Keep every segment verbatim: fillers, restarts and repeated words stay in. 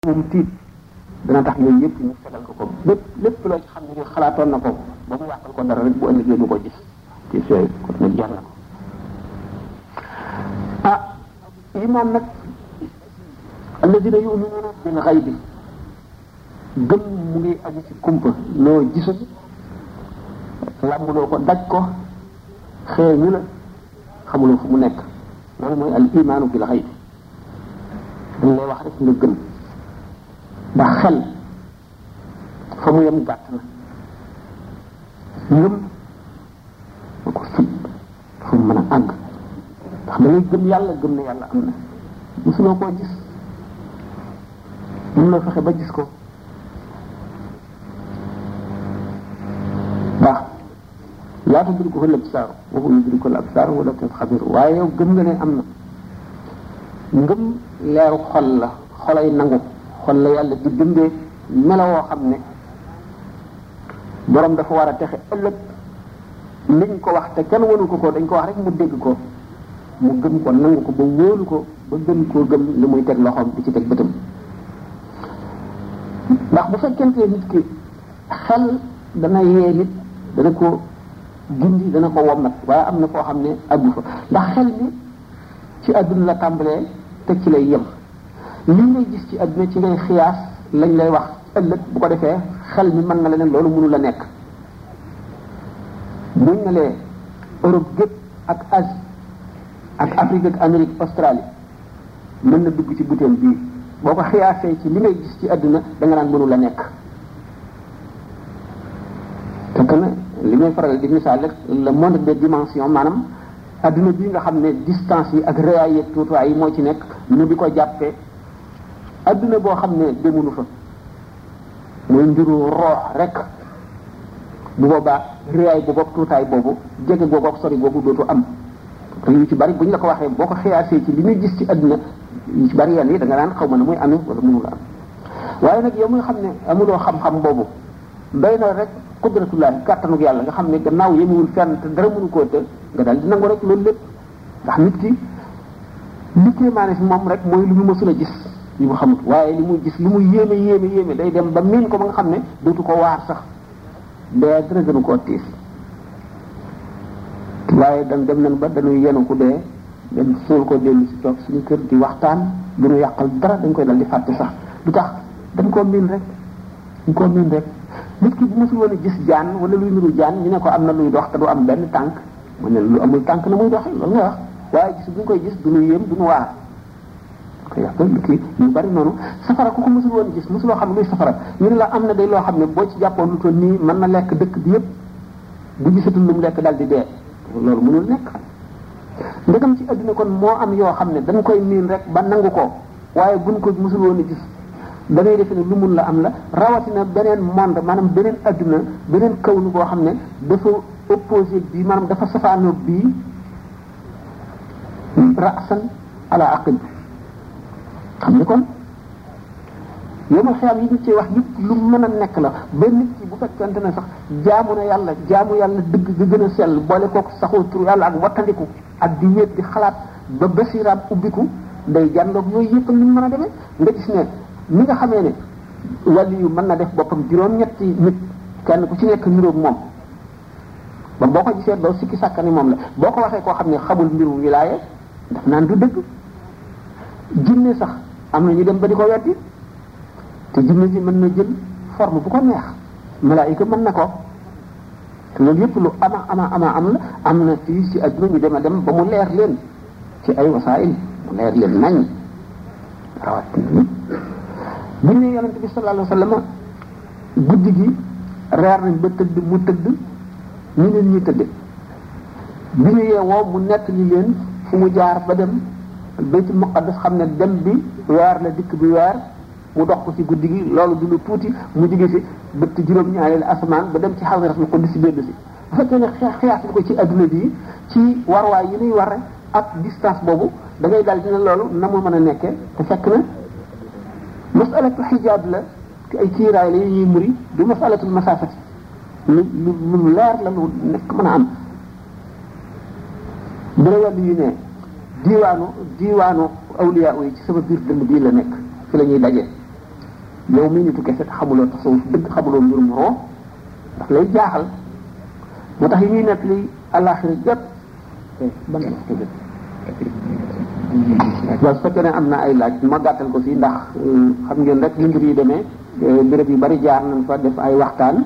moom tiit dana tax yooyu yëpp ñu fegal ko ko lépp lépp loo ci xam ne xalaatoon na ko ba mu yàqal ko dara rek bu ëllëgee du ko gis ci yooyu kon nag jar na ko ah iman nag alladina yuminuna bil ghaybi gëm mu ngi aju ci kumpa loo gisul làmbuloo ko daj ko xeeñu la xamuloo fu mu nekk loolu mooy al imaanu bil ghaybi dañ lay wax rek nga gëm ndax xel fa mu yem gàtt na ngëm ma ko fit fu mu mën a àgg ndax da ngay gëm yàlla gëm ne yàlla am na mosuloo koo gis mën loo fexe ba gis ko waaw laa tudrikuhu l-absaar wa huwa yudriku l-absaar wa latiful xabiir waaye yow gëm nga ne am na ngëm leeru xol la xolay nangu xol la yàlla di bindee melawoo xam ne borom dafa war a texe ëllëg liñ ko wax te kenn wanu ko ko dañ ko wax rek mu dégg ko mu gëm ko nangu ko ba wóolu ko ba gën koo gëm li muy teg loxoom di ci teg bëtam ndax bu fekkente nit ki xel dana yee nit dana ko gindi dana ko wommat waaye am na koo xam ne àggu fa ndax xel mi ci àdduna la tàmbalee te ci lay yem li ngay gis ci àdduna ci ngay xiyaas lañ lay wax ëllëg bu ko defee xel mi mën na la ne loolu mënu la nekk buñ ne lee Europe gépp ak Asie ak Afrique ak Amérique Australie mën na dugg ci butéel bii boo ko xiyaasee ci li ngay gis ci àdduna da nga naan mënu la nekk fekk na li may faral di misaal rek le monde des dimensions maanaam adduna bi nga xam ne distance yi ak réyaay yeeg tuutuwaay yi moo ci nekk ñu di ko jàppee adduna boo xam ne demunu fa mooy mbiru roox rek bu boobaa réyaay boobu ak tuutaay boobu jege boobu ak sori boobu dootu am te yu ci bari bu ñu la ko waxee boo ko xiyaasee ci li ñuy gis ci adduna yu ci bari yenn yi da nga naan xaw ma ne muy amee wala mënu la am waaye nag yow muy xam ne amuloo xam-xam boobu doy na rek qudratullahi kàttanug yàlla nga xam ne gannaaw yemuwul fenn te dara mënu koo të nga daal di nangu rek loolu lépp ndax nit ki li kéemaane si moom rek mooy lu mu mësul a gis li mu xamut waaye li muy gis li muy yéeme yéeme yéeme day dem ba miin ko ba nga xam ne dootu ko waar sax dee dara gënu koo tiis waaye dan dem nañ ba dañuy yenu ku dee dem suul ko dellu si toog suñu kër di waxtaan du ñu yàqal dara dañ koy dal di fàtte sax du tax dañ koo miin rek dañ koo miin rek nit ki bu mosul woon a gis jaan wala luy niru jaan ñu ne ko am na luy dox te du am benn tànk mu ne lu amul tànk na muy doxee loolu nga wax waaye gis bu ñu koy gis du ñu yéem du ñu waar ko yàq lu kii ñu bari noonu safara ku ko mosul woon gis mosuloo xam luy safara ñu ne la am na day loo xam ne boo ci jàppoon lu toll nii mën na lekk dëkk bi yépp bu gisatul lu mu lekk dal di dee loolu mënul nekk ndegam ci adduna kon moo am yoo xam ne dañ koy miin rek ba nangu ko waaye buñ ko mosul woon a gis da ngay defe ne lu mun la am la rawatina beneen monde maanaam beneen adduna beneen kawnu boo xam ne dafa opposé bii maanaam dafa safaanoo bii rasan ala aqil xam ni kon yow ma xiyam yi ñu ci wax yëpp lu mën a nekk la ba nit ki bu fekkente ne sax jaamu na yàlla jaamu yàlla dëgg ga gën a sell boole kook saxoo tur yàlla ak wattandiku ak di wéet di xalaat ba basiraam ubbiku day jàndoog yooyu yëpp ni mu mën a demee nga gis ne ni nga xamee ne wàllu yu mën na def boppam juróom-ñetti nit kenn ku ci nekk niroog moom ba boo ko gisee doo sikki sàkkani moom la boo ko waxee koo xam ne xamul mbiru wilaaye daf naan du dëgg jinne sax am na ñu dem ba di ko weddi te jinne ji mën na jël forme bu ko neex malaayika mën na ko te loolu yëpp lu ama ama ama am la am na fii ci adduna ñu dem a dem ba mu leer leen ci ay wasaayil mu leer leen nañ rawat bu ñu ne yonente bi sallallahu alayhi wa sallam guddi gi reer nañ ba tëdd mu tëdd ñu leen ñuy tëdde bi ñu yeewoo mu nett li leen fu mu jaar ba dem baytul muqaddas xam ne dem bi weer la dikk bi weer mu dox ko ci guddi gi loolu du lu tuuti mu jóge fi bëtt juróom-ñaareelu asamaan ba dem ci xawratul qudus si benn si bu fekkee ne xiyaas ko ci adduna bi ci warwaay yi ñuy war ak distance boobu da ngay daal dina loolu na mu mën a nekkee te fekk na masalatu xijaab la ay kiiraay la yi ñuy muri du masalatul masaafati lu lu lu leer la lu nekk mën a am bu la wàllu yi ne diiwaanu diiwaanu awliya yi ci sama biir dënd bii la nekk fi la ñuy daje yow mii nitu kese xamuloo tasawuf dëgg xamuloo mbirum roo daf lay jaaxal moo tax yi ñuy nekk li àllaaxira jot ban waaw su fekkee ne am na ay laaj ma gàttal ko fii ndax xam ngeen rek li mbir yi demee béréb yu bari jaar nañ fa def ay waxtaan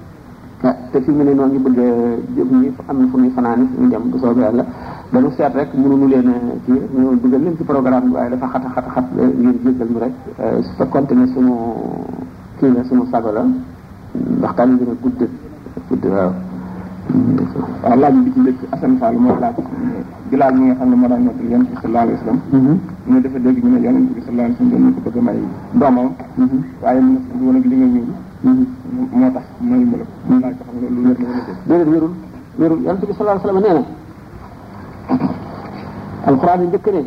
te fi mu ne noonu ñu bëgg jóg ñi am na fu ñuy fanaan fu ñu dem bu soobee yàlla dañu seet rek mënuñu leen kii ñu dugal leen ci programme bi waaye dafa xat a xat a xat ngeen jéggal ñu rek su fekkoonte ne sunu kii la sunu sago la waxtaan yi gën a gudd gudd waaw waaw laaj bi ci njëkk Assane Fall mooy laaj Bilaal mi nga xam ne moo daan nekk yonent bi sallallahu alayhi wa sallam ñu dafa dégg ñu ne yonent bi sallallahu alayhi wa sallam ko bëgg a may doomam waaye mu ne woon ak li nga ñëw moo tax may mu la laaj ko xam nga lu wér na wala déedéet wérul wérul yonent bi sallallahu alayhi wa sallam nee na alquran yi njëkk ne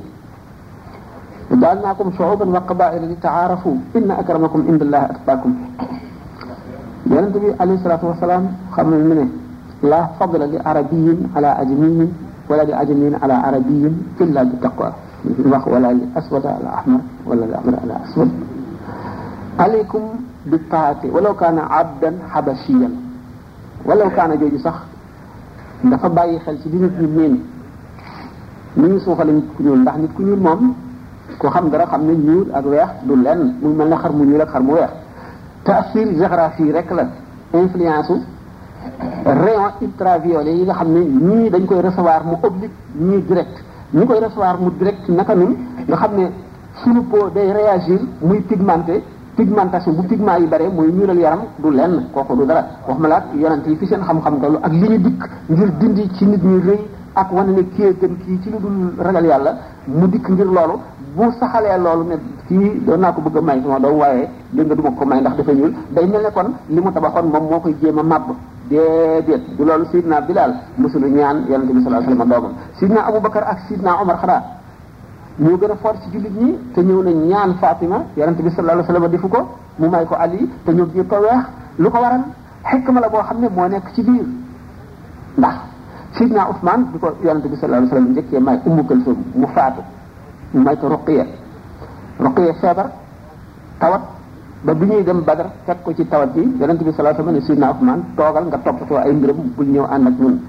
ja'alnaakum shu'uban wa qabaa'ila li ta'aarafu inna akramakum inda allahi atqaakum yonent bi alayhi salaatu wa salaam xam nañ ne la fadla li arabiyin ala ajamiyin wala li ajamiyin ala arabiyin illa bi taqwa wax wala li aswad ala ahmar wala li ahmar ala aswad alaykum bi taati walaw kaana abdan habashiyan walaw kaana jooju sax dafa bàyyi xel ci li nit ñi miin ni ñu suuxale nit ku ñuul ndax nit ku ñuul moom ko xam dara xam ne ñuul ak weex du lenn mu mel ne xar mu ñuul ak xar mu weex taasir géographie rek la influence rayon ultraviolet yi nga xam ne ñii dañ koy recevoir mu oblique ñii direct ñi koy recevoir mu direct naka nun nga xam ne suñu peau day réagir muy pigmenté pigmentation bu pigment yi bare muy ñuulal yaram du lenn kooku du dara wax ma laat yonent yi fi seen xam-xam tollu ak li ñu dikk ngir dindi ci nit ñi rëy ak wane ne kii gën kii ci lu dul ragal yàlla mu dikk ngir loolu bu saxalee loolu ne kii doon naa ko bëgg a may sama doom waaye dégg nga du ma ko may ndax dafa ñuul day mel ne kon li mu tabaxoon moom moo koy jéem a màbb déedéet du loolu Sidna Bilal musulu ñaan yonente bi sallallahu alayhi wasallam doomam Sidna Aboubacar ak Sidna Omar xanaa ñoo gën a fort ci jullit ñi te ñëw na ñaan Fatima yonente bi sallallahu alayhi wasallam defu ko mu may ko Ali te ñoom ñëpp ko weex lu ko waral xikma la boo xam ne moo nekk ci biir ndax Sidna Ousmane bi ko yonente bi sallallahu alayhi wasallam njëkkee may Ummu Kalsum mu faatu mu may ko Ruqiya Ruqiya feebar tawat ba bi ñuy dem Badar fekk ko ci tawat bi yonente bi sallallahu alayhi wasallam ne Sidna Ousmane toogal nga toppatoo ay mbiram bul ñëw ànd ak ñun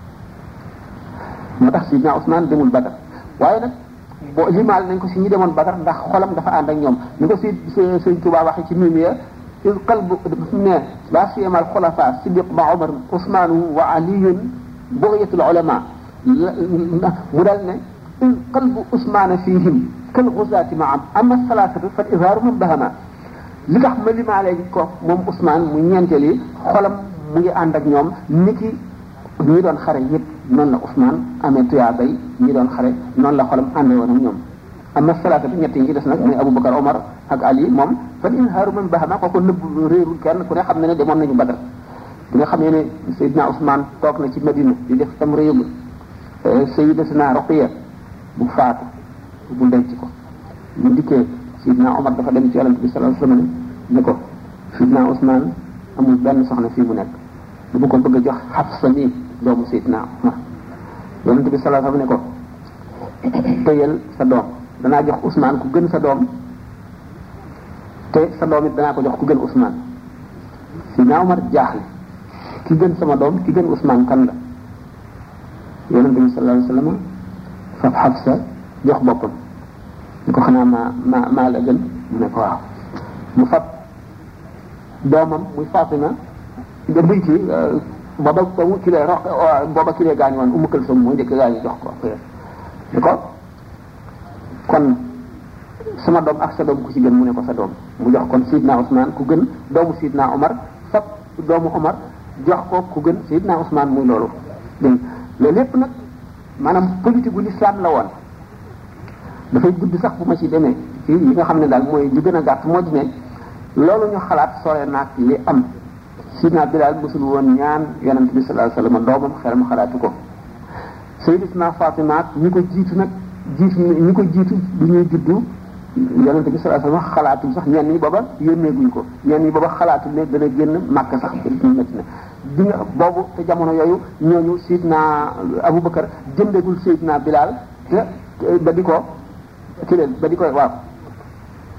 moo tax Sidna Ousmane demul Badar waaye nag boo limaal nañ ko si ñi demoon Badar ndax xolam dafa ànd ak ñoom ni ko si Sëñ Tuubaa waxee ci mimiya il qalbu ne la siyama al xulafa Siddiq ma Omar Ousmane wa Aliyun bughyatul ulama mu dal ne il qalbu Ousmane fihim kal ghuzaati ma am ama salaasatu fa izhaaru man bahama li tax ma limaale ko moom Ousmane mu ñeenteel yi xolam mu ngi ànd ak ñoom niki ñi doon xare yëpp noonu la Ousmane amee tuyaabay ñi doon xare noonu la xolam àndee woon ak ñoom amma salaata bi ñett yi ci des nag muy Aboubacar Omar ak Ali moom fan inhaaru man bahama kooku nëbb réerul kenn ku ne xam ne ne demoon nañu Badar bi nga xamee ne Seydina Ousmane toog na ci Medina di def tam réew Sayyidatuna Ruqiya bu faatu bu denc ko bu dikkee Seydina Omar dafa dem ci Yonent bi sallallahu alayhi wasallam ne ko Seydina Ousmane amul benn soxna fii mu nekk bu ko bëgg a jox Hafsa mi doomu Seydina Omar Yonent bi sallallahu alayhi wasallam ne ko téyel sa doom danaa jox Ousmane ku gën sa doom te sa doom it danaa ko jox ku gën Ousmane Seydina Omar jaaxle ki gën sama doom ki gën Ousmane kan la Yonent bi sallallahu alayhi wasallam fab Hafsa jox boppam ni ko xanaa maa maa maa la gën mu ne ko waaw mu fab doomam muy Fatima da muy ci booba boobu ki lay rox booba ki lay gaañu woon Ummu Kalsum mooy njëkk gaañu jox ko ni ko kon sama doom ak sa doom ku ci gën mu ne ko sa doom mu jox kon Sidna Ousmane ku gën doomu Sidna Omar fab doomu Omar jox ko ku gën Sidna Ousmane muy loolu dégg loolu lépp nag maanaam politique gu l'islam la woon dafay gudd sax bu ma ci demee ci li nga xam ne daal mooy li gën a gàtt moo di ne loolu ñu xalaat sore naag li am Sidna Bilal musul woon ñaan Yonent bi sallallahu alayhi wasallam doomam xelam xalaatu ko Sayyidatuna Fatima ñi ko jiitu nag jiitu ñi ko jiitu du ñuy juddu Yonent bi sallallahu alayhi wasallam xalaatuñ sax ñenn ñi booba yónneeguñ ko ñenn ñi booba xalaatuñ ne dana génn Makka sax ñu métti na di nga boobu te jamono yooyu ñooñu Sidna Aboubacar jëndegul Sidna Bilal te ba di ko ki leen ba di koy waaw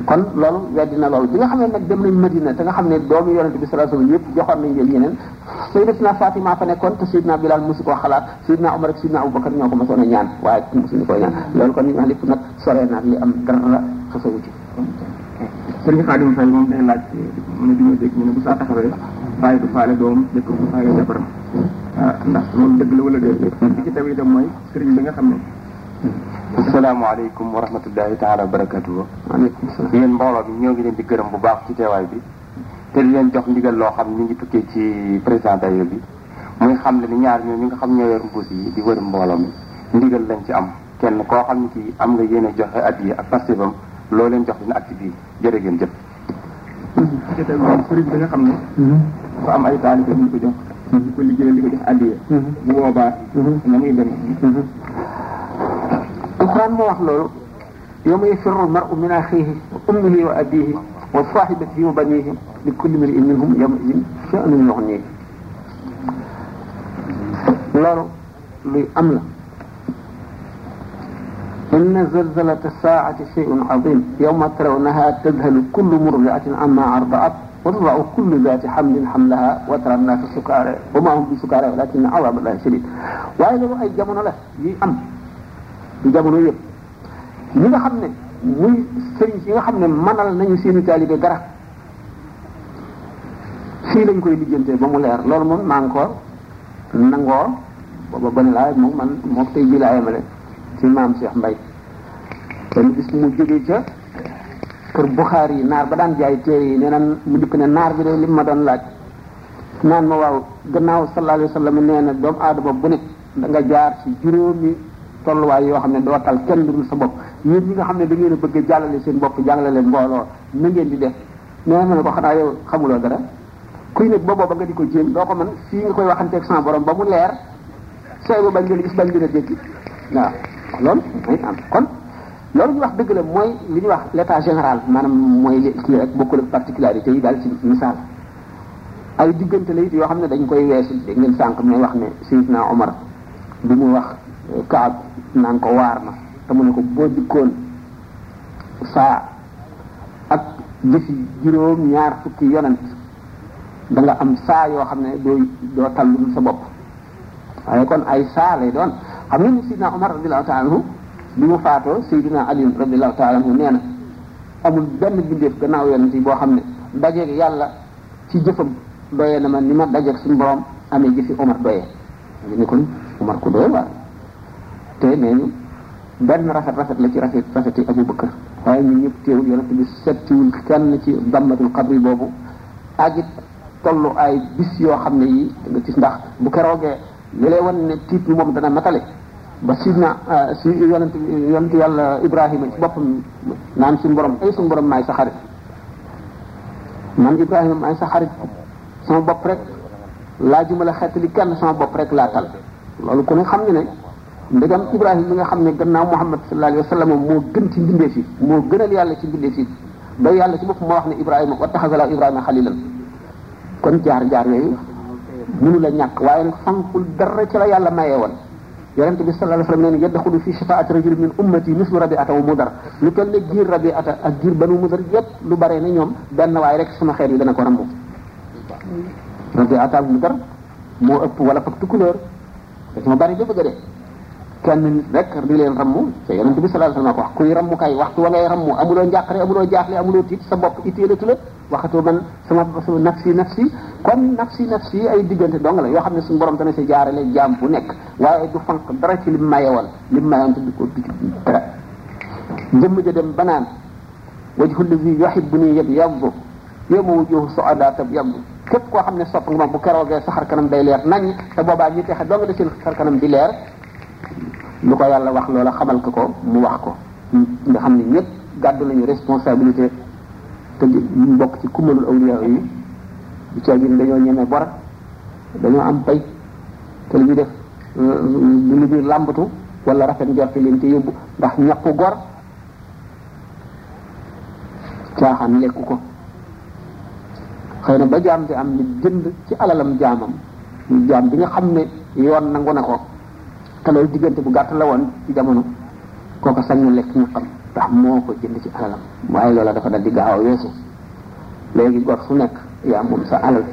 kon loolu weddi na loolu bi nga xam ne nag dem nañ Madina te nga xam ne doomu yonente bi sallallahu alayhi wasallam yëpp joxoon nañ leen yeneen Sayyidatina Fatima fa nekkoon te Sayyidina Bilal mosu koo xalaat Sayyidina Umar ak Sayyidina Abubakar ñoo ko mosoon a ñaan waaye mosuñu koo ñaan loolu kon ñu wax lépp nag soree naag li am dara xasawu ci sëriñ Xaadim Fay moom day laaj mu ne di ma dégg ñu ne bu saa taxawee bàyyi du faale doom jëkk bu faale jabaram ndax loolu dëgg la wala déet li ci taw itam mooy sëriñ bi nga xam ne asalaamaaleykum wa rahmatullahi taala wa barakatuhu waaleykum salaam yéen mbooloo bi ñoo ngi leen di gërëm bu baax ci teewaay bi te di leen jox ndigal loo xam ne ñu ngi tukkee ci président dayo bi muy xam ne ni ñaar ñoo ñi nga xam ñoo yor mbuus yi di wër mbooloo mi ndigal lañ ci am kenn koo xam ne kii am nga yéene joxe addiya ak pastéfam loo leen jox dina acte bi jërë ngeen jëf ci taw moom sëriñ bi nga xam ne ko am ay taalibe ñu ko jox di ko liggéeyal di ko jox addiya bu boobaa na muy dem alquran moo wax loolu yawma yafirru al-mar'u min akhihi wa ummihi wa abihi wa sahibatihi wa banihi li kulli imri'in minhum yawma'idhin sha'nun yughnihi loolu luy am la inna zalzalata as-sa'ati shay'un 'azim yawma tarawnaha tadhhalu kullu murdi'atin amma arda'at wa tada'u kullu dhati hamlin hamlaha wa tara an-nasa sukara wa ma hum bi sukara walakinna 'adhaba Allahi shadid waaye loolu ay jamono la yi am du jamono yëpp ñi nga xam ne muy sëriñ yi nga xam ne manal nañu seeni taalibe dara fii lañ koy lijjantee ba mu leer loolu moom maa ngi ko nangoo booba bani laa moom man moo tey ji laa yemale ci maam Cheikh Mbaye benn bis mu jógee ca kër Buxaari yi naar ba daan jaay téere yi nee na mu dikk ne naar bi de li ma doon laaj naan ma waaw gannaaw sallallahu alayhi wa sallam nee na doomu aadama bu ne da nga jaar ci juróomi tolluwaay yoo xam ne doo tal kenn dul sa bopp yéen ñi nga xam ne da ngeen a bëgg a jàllale seen bopp jàllale leen mbooloo na ngeen di def nee na ma ne ko xanaa yow xamuloo dara kuy nekk ba booba nga di ko jéem doo ko mën fii nga koy waxanteeg sama borom ba mu leer sooy ba bañ leen gis bañ leen a dégg waaw loolu may am kon loolu ñu wax dëgg la mooy li ñuy wax l'état général maanaam mooy li kii rek bokkul ak particularité yi daal ci misaal ay diggante la it yoo xam ne dañ koy weesu dégg ngeen sànq may wax ne Seydina Omar bi mu wax Kaab naan ko waar na te mu ne ko boo dikkoon saa ak jëfi juróom ñaar fukki yonent da nga am saa yoo xam ne doo doo tallul sa bopp waaye kon ay saa lay doon xam nga ni Seydina Omar radiyallahu ta'ala anhu bi mu faatoo Seydina Ali radiyallahu ta'ala anhu nee na amul benn bindeef gannaaw yonent yi boo xam ne dajeeg yàlla ci jëfam doyee na ma ni ma dajeeg suñu borom amee jëfi Omar doyee ñu ne kon Omar ko doyee waaye te nee ñu benn rafet rafet la ci rafet rafeti Abu Bakar waaye ñun ñëpp teewul yonent bi settiwul kenn ci dammatul xabri boobu ak it tollu ay bis yoo xam ne yi nga gis ndax bu keroogee li lay wan ne tiit bi moom dana matale ba sidna si yonent yonent yàlla Ibrahima ci boppam naan suñu borom ay suñu borom maay sa xarit man Ibrahima maay sa xarit sama bopp rek laajuma la xeetali kenn sama bopp rek laa tal loolu ku ne xam ne ne ndegam Ibrahima mi nga xam ne gannaaw Muhammad sallallahu alayhi wa sallam moo gën ci mbindeef yi moo gënal yàlla ci mbindeef yi ba yàlla ci bopp moo wax ne Ibrahima wattaxaza Ibrahima xalilan kon jaar jaar yooyu mënu la ñàkk waaye nag fankul dara ci la yàlla mayee woon yonent bi sallallahu alayhi wa sallam nee na yadxulu fi shafaati rajulin min ummati mislu rabiata wa mudar lu toll ne giir rabiata ak giir banu mudar yépp lu bare ne ñoom benn waaye rek sama xeet yi dana ko rambu rabiata ak mudar moo ëpp wala fak tukulóor dañoo bari ba bëgg a dee kenn nit rek di leen rammu te yonent bi sallallahu alayhi wa sallam ko wax kuy rammu kay waxtu wa ngay rammu amuloo njàqare amuloo jaaxle amuloo tiit sa bopp itteelatu la waxatu man sama sama nafsi nafsi kon nafsi nafsi ay diggante dong la yoo xam ne suñu borom dana si jaarale jaam bu nekk waaye du fanq dara ci lim mayewoon lim mayewoon te du ko du dara jëmm ja dem banaan wajhu allazi yuhibbuni yabyaddu yawma wujuhu su'ada tabyaddu képp koo xam ne sopp nga ma bu keroogee sa xar kanam day leer nañ te boobaa ñi texe dong la seen xar kanam di leer lu ko yàlla wax loola xamal ko ko mu wax ko nga xam ne ñëpp gàddu nañu responsabilité te ñu bokk ci kumalul awliya yi du caa gi dañoo ñeme bor dañoo am pay te li ñuy def lu ñuy làmbatu wala rafet njorte leen ci yóbbu ndax ñàkku gor caaxaan lekku ko xëy na ba jaam di am ni jënd ci alalam jaamam jaam bi nga xam ne yoon nangu na ko te loolu diggante bu gàtt la woon ci jamono kooku sañ na lekk ñaqam ndax moo ko jënd ci alalam waaye loola dafa dal di gaaw a weesu léegi gor fu nekk yaa moom sa alal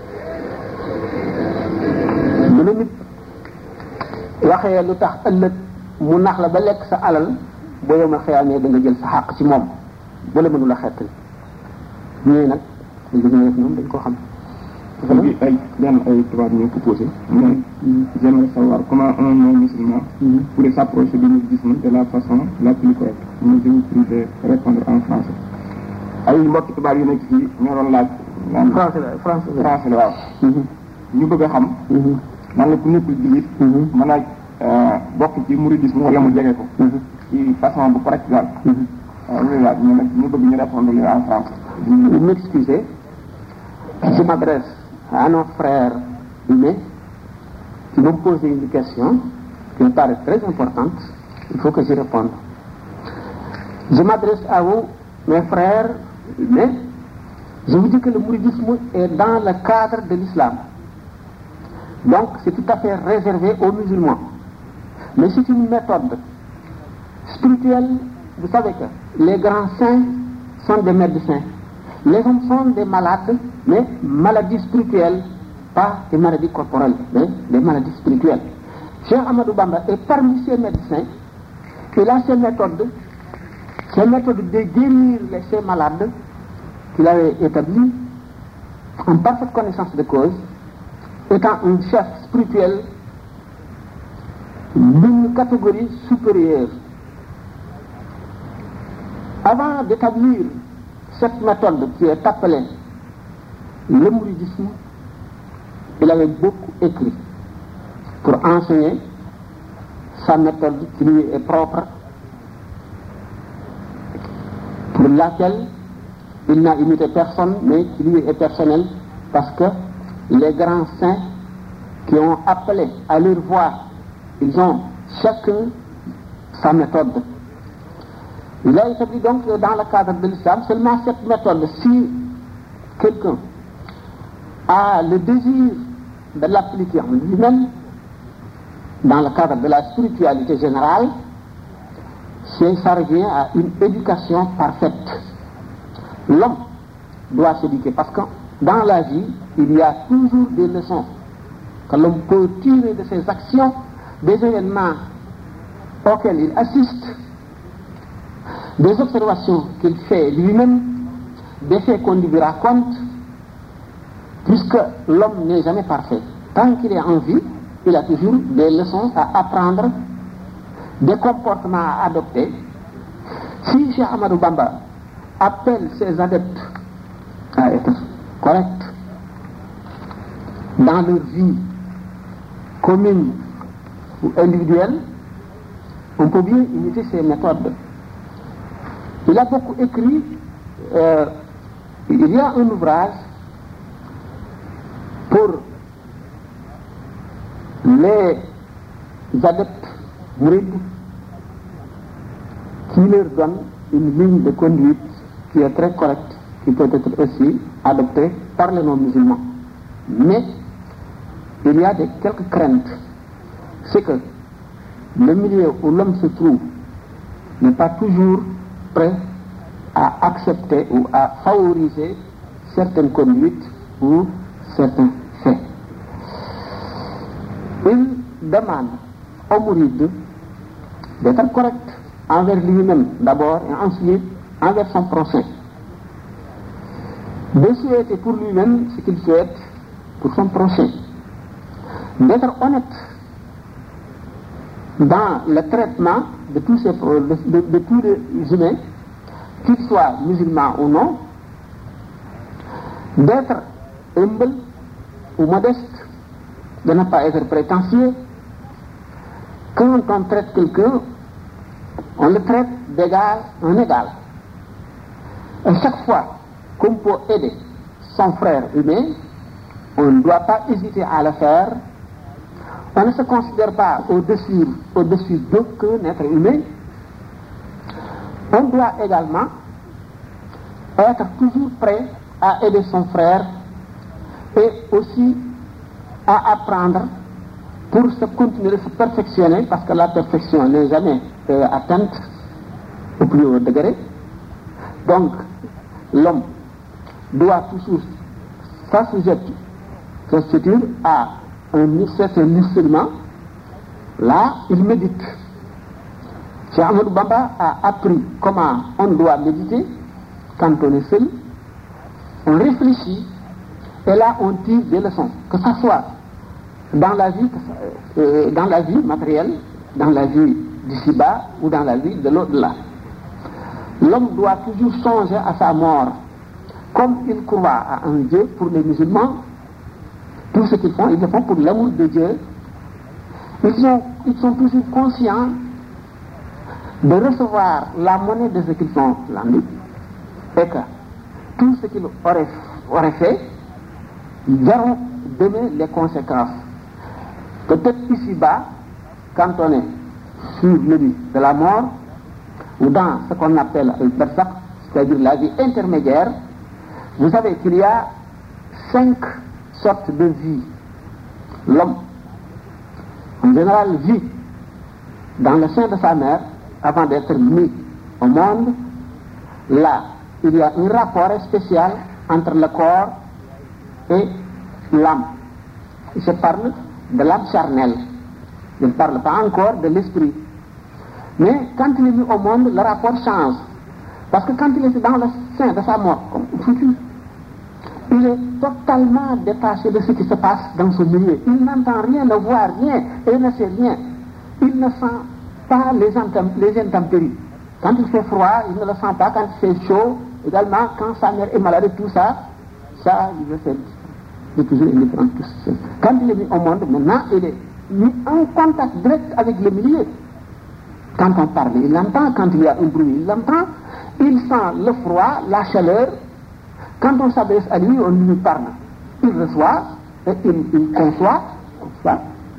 mu ne nit waxee lu tax ëllëg mu nax la ba lekk sa alal boo yow ma xëyaamee da nga jël sa xàq ci moom bu la mënula xettali ñooy nag li ñu def ñoom dañ ko xam léegi ay benn ay tubaab ñoo ko posé mais j'aimerais savoir comment un non musulman pourrait s'approcher du mouridisme de la façon la plus correcte mais je vous prie de répondre en français ay mbokki tubaab yu nekk fii ñoo doon laaj français la français français la waaw ñu bëgg a xam nan la ku nekkul jullit mën a bokk ci mouridisme wala mu jege ko ci façon bu correct daal waaw loolu laaj ñu nag ñu bëgg ñu répondre li en français vous m'excusez je m'adresse à nos frères humains qui m'ont posé une question qui me paraît très importante. Il faut que j'y réponde. Je m'adresse à vous, mes frères humains. Je vous dis que le mouridisme est dans le cadre de l'islam. Donc, c'est tout à fait réservé aux musulmans. Mais c'est une méthode spirituelle. Vous savez que les grands saints sont des médecins. Les hommes sont des malades, mais maladies spirituelles, pas des maladies corporelles, mais des maladies spirituelles. Cheikh Ahmadou Bamba est parmi ces médecins, il a ces méthodes, ces méthodes de guérir les, ces malades qu'il avait établies en parfaite connaissance de cause, étant un chef spirituel d'une catégorie supérieure. Avant d'établir cette méthode qui est appelée le mouridisme, il avait beaucoup écrit pour enseigner sa méthode qui lui est propre, pour laquelle il n'a imité personne, mais qui lui est personnelle, parce que les grands saints qui ont appelé à leur voix, ils ont chacun sa méthode. Il a établi donc dans le cadre de l'islam seulement cette méthode. Si quelqu'un a le désir de l'appliquer en lui-même, dans le cadre de la spiritualité générale, c'est, ça revient à une éducation parfaite. L'homme doit s'éduquer parce que dans la vie, il y a toujours des leçons que l'homme peut tirer de ses actions, des événements auxquels il assiste, des observations qu'il fait lui-même, des faits qu'on lui raconte, puisque l'homme n'est jamais parfait. Tant qu'il est en vie, il a toujours des leçons à apprendre, des comportements à adopter. Si Cheikh Ahmadou Bamba appelle ses adeptes à être corrects dans leur vie commune ou individuelle, on peut bien imiter ses méthodes. Il a beaucoup écrit, euh, il y a un ouvrage pour les adeptes mourides qui leur donne une ligne de conduite qui est très correcte, qui peut être aussi adoptée par les non-musulmans. Mais il y a des, quelques craintes. C'est que le milieu où l'homme se trouve n'est pas toujours prêt à accepter ou à favoriser certaines conduites ou certains faits. Il demande au mouride d'être correct envers lui-même d'abord et ensuite envers son prochain. De souhaiter pour lui-même ce qu'il souhaite pour son prochain. D'être honnête dans le traitement de tous, ces, de, de, de tous les humains, qu'ils soient musulmans ou non, d'être humble ou modeste, de ne pas être prétentieux. Quand on traite quelqu'un, on le traite d'égal en égal. Et chaque fois qu'on peut aider son frère humain, on ne doit pas hésiter à le faire. On ne se considère pas au-dessus, au-dessus d'aucun être humain. On doit également être toujours prêt à aider son frère et aussi à apprendre pour se continuer de se perfectionner, parce que la perfection n'est jamais euh, atteinte au plus haut degré. Donc, l'homme doit toujours s'assujettir à un certain instrument. Là, il médite. Cheikh Ahmadou Bamba a appris comment on doit méditer quand on est seul. On réfléchit et là on tire des leçons, que ça soit dans la vie, euh, dans la vie matérielle, dans la vie d'ici-bas ou dans la vie de l'au-delà. L'homme doit toujours songer à sa mort. Comme il croit à un Dieu, pour les musulmans, tout ce qu'ils font, ils le font pour l'amour de Dieu. Ils sont, ils sont toujours conscients de recevoir la monnaie de ce qu'ils font l'année, et que tout ce qu'ils auraient, auraient fait, ils verront demain les conséquences. Peut-être ici-bas, quand on est sur le lit de la mort, ou dans ce qu'on appelle le barzakh, c'est-à-dire la vie intermédiaire, vous savez qu'il y a cinq sortes de vie. L'homme, en général, vit dans le sein de sa mère avant d'être mis au monde. Là, il y a un rapport spécial entre le corps et l'âme. Il se parle de l'âme charnelle. Il ne parle pas encore de l'esprit. Mais quand il est mis au monde, le rapport change. Parce que quand il est dans le sein de sa mort, comme futur, il est totalement détaché de ce qui se passe dans son milieu. Il n'entend rien, ne voit rien et ne sait rien. Il ne sent pas les, intemp- les intempéries. Quand il fait froid, il ne le sent pas. Quand il fait chaud, également, quand sa mère est malade, tout ça, ça, il le fait. Il est toujours indifférent. Quand il est mis au monde, maintenant, il est mis en contact direct avec le milieu. Quand on parle, il l'entend. Quand il y a un bruit, il l'entend. Il sent le froid, la chaleur. Quand on s'adresse à lui, on lui parle. Il reçoit, et il, il conçoit, conçoit.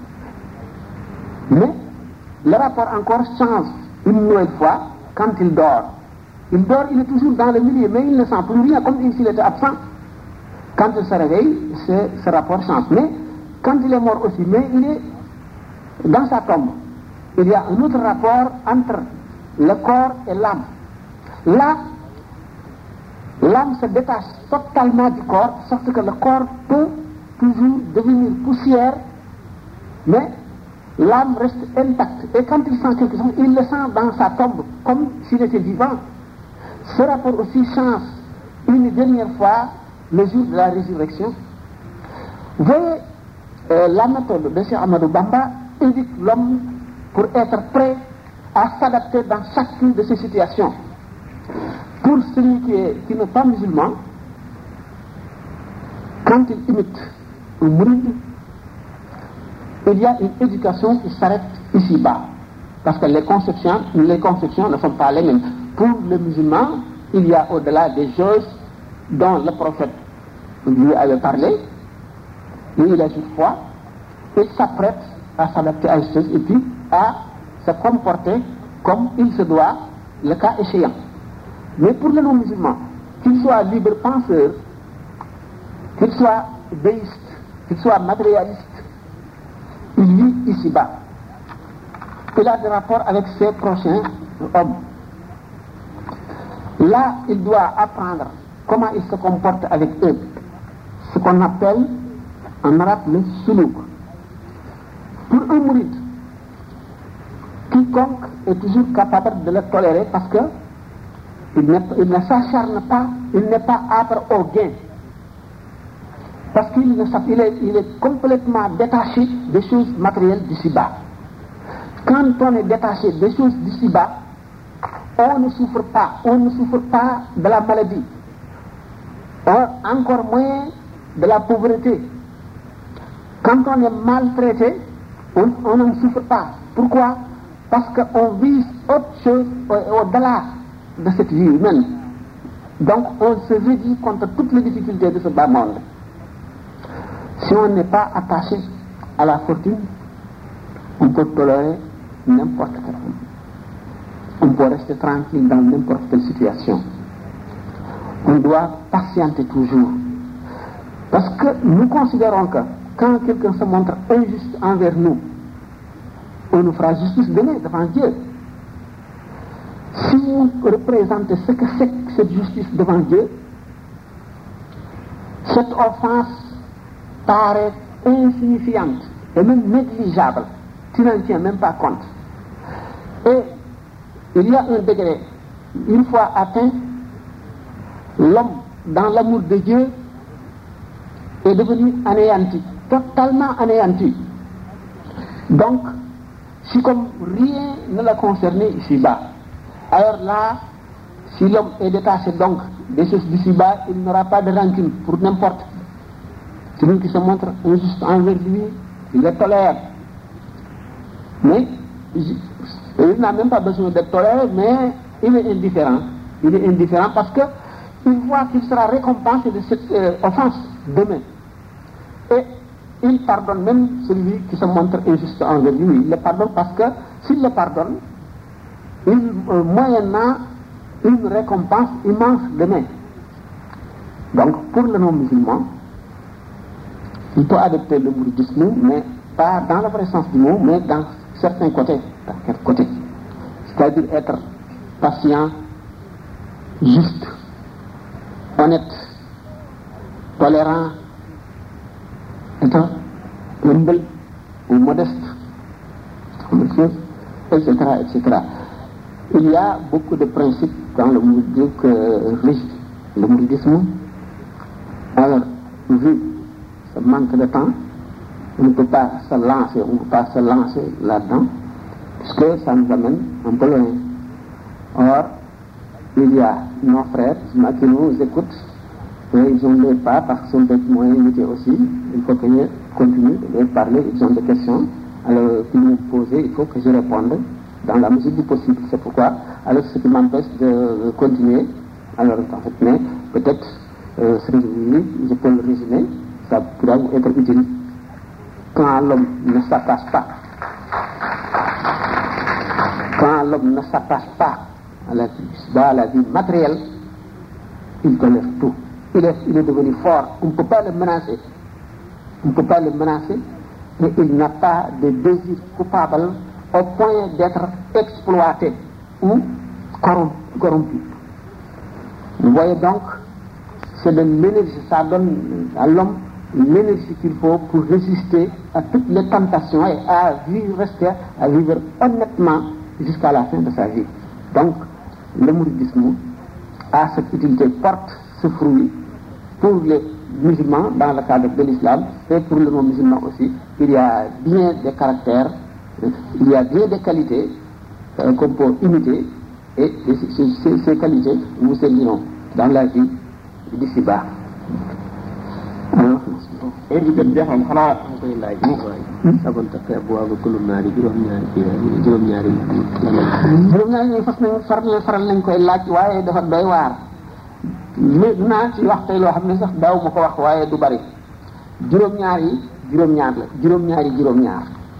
Mais le rapport encore change une nouvelle fois quand il dort. Il dort, il est toujours dans le milieu, mais il ne sent plus rien, comme s'il était absent. Quand il se réveille, ce, ce rapport change. Mais quand il est mort aussi, mais il est dans sa tombe. Il y a un autre rapport entre le corps et l'âme. Là, l'âme se détache totalement du corps, sauf que le corps peut toujours devenir poussière, mais l'âme reste intacte. Et quand il sent quelque chose, il le sent dans sa tombe, comme s'il était vivant. Ce rapport aussi change une dernière fois le jour de la résurrection. Vous voyez, euh, la méthode de Cheikh Ahmadou Bamba éduque l'homme pour être prêt à s'adapter dans chacune de ces situations. Pour celui qui, est, qui n'est pas musulman, quand il imite un mouride, il y a une éducation qui s'arrête ici-bas. Parce que les conceptions, les conceptions ne sont pas les mêmes. Pour le musulman, il y a au-delà des choses dont le prophète lui avait parlé, mais il a juste foi, il s'apprête à s'adapter à ces choses et puis à se comporter comme il se doit, le cas échéant. Mais pour le non-musulman, qu'il soit libre penseur, qu'il soit déiste, qu'il soit matérialiste, il vit ici-bas. Il a des rapports avec ses prochains hommes. Là, il doit apprendre comment il se comporte avec eux. Ce qu'on appelle en arabe le suluk. Pour un mouride, quiconque est toujours capable de le tolérer parce que il, il ne s'acharne pas, il n'est pas âpre au gain. Parce qu'il ne, il est, il est complètement détaché des choses matérielles d'ici-bas. Quand on est détaché des choses d'ici-bas, on ne souffre pas, on ne souffre pas de la maladie, on, encore moins de la pauvreté. Quand on est maltraité, on, on ne souffre pas. Pourquoi? Parce qu'on vit autre chose au-delà de cette vie humaine. Donc on se réduit contre toutes les difficultés de ce bas monde. Si on n'est pas attaché à la fortune, on peut tolérer n'importe quelle chose. On peut rester tranquille dans n'importe quelle situation. On doit patienter toujours. Parce que nous considérons que quand quelqu'un se montre injuste envers nous, on nous fera justice demain devant Dieu. si vous représentez ce que c'est que cette justice devant Dieu, cette offense paraît insignifiante et même négligeable. Tu n'en tiens même pas compte. Et il y a un degré, une fois atteint, l'homme, dans l'amour de Dieu, est devenu anéanti, totalement anéanti. Donc, si comme rien ne l'a concerné ici-bas, alors là, si l'homme est détaché donc des choses d'ici-bas, il n'aura pas de rancune pour n'importe qui. Celui qui se montre injuste envers lui, il le tolère. Mais il n'a même pas besoin d'être toléré, mais il est indifférent. Il est indifférent parce que il voit qu'il sera récompensé de cette euh, offense demain. Et il pardonne même celui qui se montre injuste envers lui. Il le pardonne parce que s'il le pardonne, il euh, moyennant une récompense immense demain. Donc pour le non-musulman, il peut adopter le mouridisme, mais pas dans le vrai sens du mot, mais dans certains côtés. Dans quel côté? C'est-à-dire être patient, juste, honnête, tolérant, être humble ou modeste, et cetera, et cetera. Il y a beaucoup de principes dans le mouridisme que régit le mouridisme. Alors, vu ce manque de temps, on ne peut pas se lancer, on ne peut pas se lancer là-dedans, puisque ça nous amène un peu loin. Or, il y a nos frères qui nous écoutent, et ils ont le pas parce qu'ils sont des moyens limités aussi. Il faut que je continue de leur parler, ils ont des questions. Alors, qu'ils me posent, il faut que je réponde dans la mesure du possible. C'est pourquoi, alors ce qui m'empêche de continuer, alors en fait, mais peut-être, euh, ce que je vous dis, je peux le résumer, ça pourra vous être utile. Quand l'homme ne s'attache pas, quand l'homme ne s'attache pas à la vie, à la vie matérielle, il tolère tout. Il est, il est devenu fort. On ne peut pas le menacer. On ne peut pas le menacer, mais il n'a pas de désir coupable au point d'être exploité ou corrompu. Vous voyez donc, c'est de l'énergie, ça donne à l'homme l'énergie qu'il faut pour résister à toutes les tentations et à vivre, rester, à vivre honnêtement jusqu'à la fin de sa vie. Donc, le mouridisme a cette utilité, porte ce fruit pour les musulmans dans le cadre de l'islam et pour les non-musulmans aussi. Il y a bien des caractères, il y a bien des qualités euh, qu'on peut imiter et ces, ces, ces qualités nous serviront dans la vie d'ici-bas. Alors, heure bi jot jeexam xanaa koy laaj waay sabanta fe bu waaga kulum naari juróom ñaari ci juróom ñaari juróom ñaari ñu fas nañ faral faral nañ koy laaj waaye dafa doy waar léegi naa ci wax tey loo xam ne sax daaw ma ko wax waaye du bari juróom-ñaar yi juróom-ñaar la juróom-ñaar yi juróom-ñaar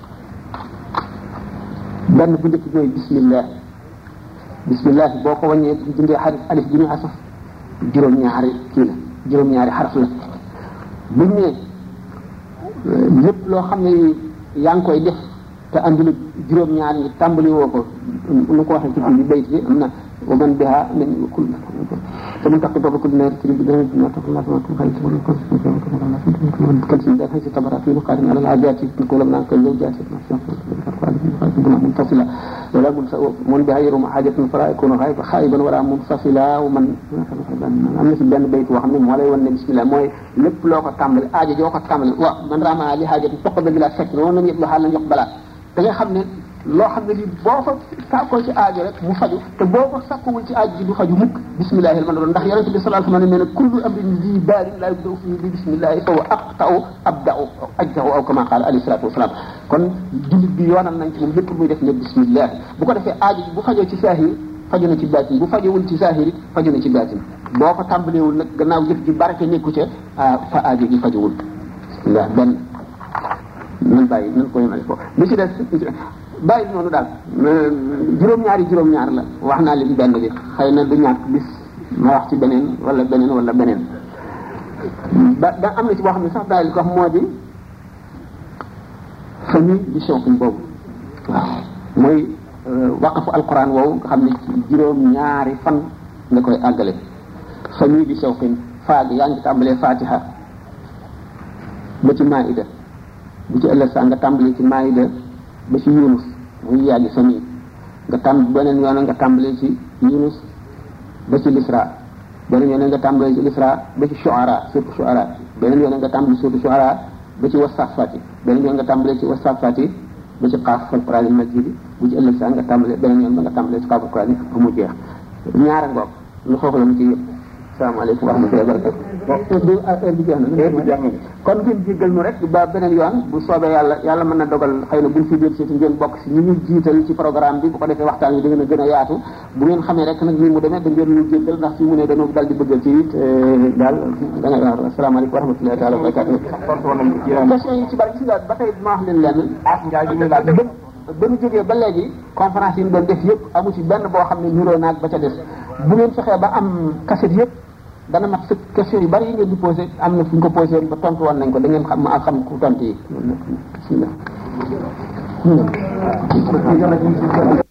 benn bu njëkk mooy bismillah bismillah boo ko wàññee bu dindee xarif alif bi ñu asaf juróom-ñaari kii la juróom-ñaari xaraf la buñ ne lépp loo xam ne yaa ngi koy def te andul juróom-ñaar ñi tàmbali woo ko nu ko waxee ci biir bayt bi am na ومن بها من كل فمن تقي باب كل نار تريد بدون ما تقول الله ما تقول خير تقول كل شيء كل شيء ده في تبرع في مقارن على العادات نقول من كل زوجات منفصلة ولا من بها يروم حاجة فلا يكون غائب خائبا ولا منفصلة ومن am na ci benn bayt boo xam ne moo lay wan ne bismillah mooy lépp loo ko tàmbali aajo joo ko tàmbali wa man rama li xaajat toq ba bila fekk noonu nañu yëpp la xaal nañ yox balaa da nga xam ne loo xam ne lii boo ko sàkkoo ci aajo rek mu faju te boo ko sàkkuwul ci aajo ji du faju mukk bismillahi man doon ndax yonente bi sallallahu alayhi wa sallam nee na kullu amrin zi baalin la yubda'u fihi bi bismillahi fa huwa aqta'u abda'u ajza'u aw kama qala alayhi salatu wasalaam kon jullit bi yoonal nañ ci moom lépp muy def ne bismillah bu ko defee aajo ji bu fajoo ci saahir faju na ci baatin bu fajowul ci saahir faju na ci baatin boo ko tàmbaleewul nag gannaaw jëf ji barke nekku ca fa aajo ji fajowul bismillah benn nan bàyyi nan ko yemale ko li ci des bàyyi noonu daal juróom-ñaari juróom-ñaar la wax naa leen benn bi xëy na du ñàkk bis ma wax ci beneen wala beneen wala beneen ba da am na ci boo xam ne sax daal ko wax moo di famille di soxuñ boobu waaw mooy waqafu alquran woowu nga xam ne ci juróom ñaari fan nga koy àggale fa ñuy bi sewqin faag yaa ngi tàmbalee fatiha ba ci maida bu ci ëllëg saa nga tàmbalee ci maida ba ci yunus muy yàggi sa nii nga tàmb beneen yoon nga tàmbalee ci yunus ba ci lisra beneen yoon nga tàmbalee ci lisra ba ci shuara surtout shuara beneen yoon nga tàmbalee surtout shuara ba ci wasafati beneen yoon nga tàmbalee ci wasafati ba ci xaaf fal qur'an majid bu ci ëllëg saa nga tàmbalee beneen yoon ba nga tàmbalee ci xaafal qur'an ba mu jeex ñaara ngoog lu xoox la mu ci yëpp salaamaaleykum wa rahmatullahi wa barakatuh du heure bi jeex na kon ngeen jéggal nu rek ba beneen yoon bu soobee yàlla yàlla mën na dogal xëy na buñ fi jël si ngeen bokk si ñi ñu jiital ci programme bi bu ko defee waxtaan yi da ngeen a gën a yaatu bu ngeen xamee rek nag ni mu demee da ngeen ñu jéggal ndax fi mu ne dañoo dal di bëggal ci it daal da nga waaw asalaamaaleykum wa rahmatullahi taala wa barakatuh question yi ci bari ci ba tey ma wax leen lenn ba ñu jógee ba léegi conférence yi ñu doon def yëpp amu ci benn boo xam ne niroo naag ba ca des bu ngeen fexee ba am cassette yëpp dana mat sëkk question yu bari yi ngeen di posé am na fu ñu ko posé ba tontu woon nañ ko da ngeen xam ma xam ku tontu yi.